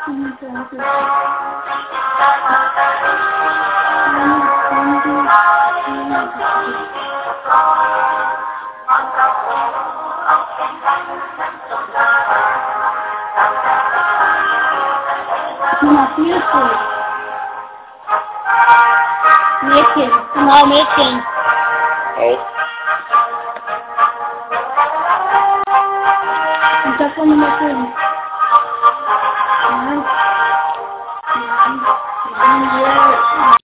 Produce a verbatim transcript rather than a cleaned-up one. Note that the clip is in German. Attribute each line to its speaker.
Speaker 1: Nummer vier. Mädchen, genau, Mädchen.
Speaker 2: Echt?
Speaker 1: Und davon Nummer fünf. Nein. Nein. Nein, hier.